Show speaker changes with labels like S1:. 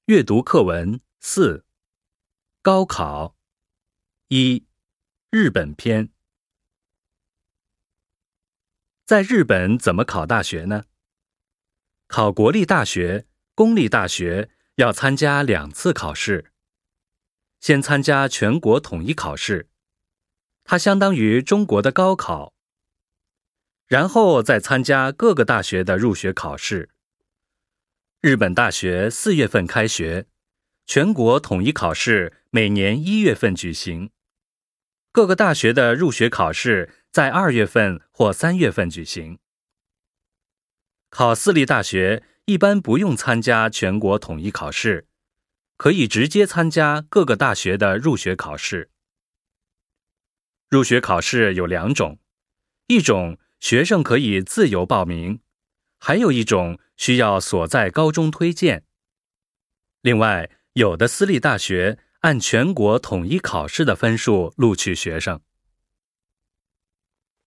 S1: 阅读课文4，高考。1、日本篇。在日本怎么考大学呢？考国立大学、公立大学要参加2次考试。先参加全国统一考试，它相当于中国的高考。然后再参加各个大学的入学考试。日本大学4月份开学，全国统一考试每年1月份举行。各个大学的入学考试在2月份或3月份举行。考私立大学一般不用参加全国统一考试，可以直接参加各个大学的入学考试。入学考试有2种，一种学生可以自由报名，还有一种需要所在高中推荐。另外，有的私立大学按全国统一考试的分数录取学生。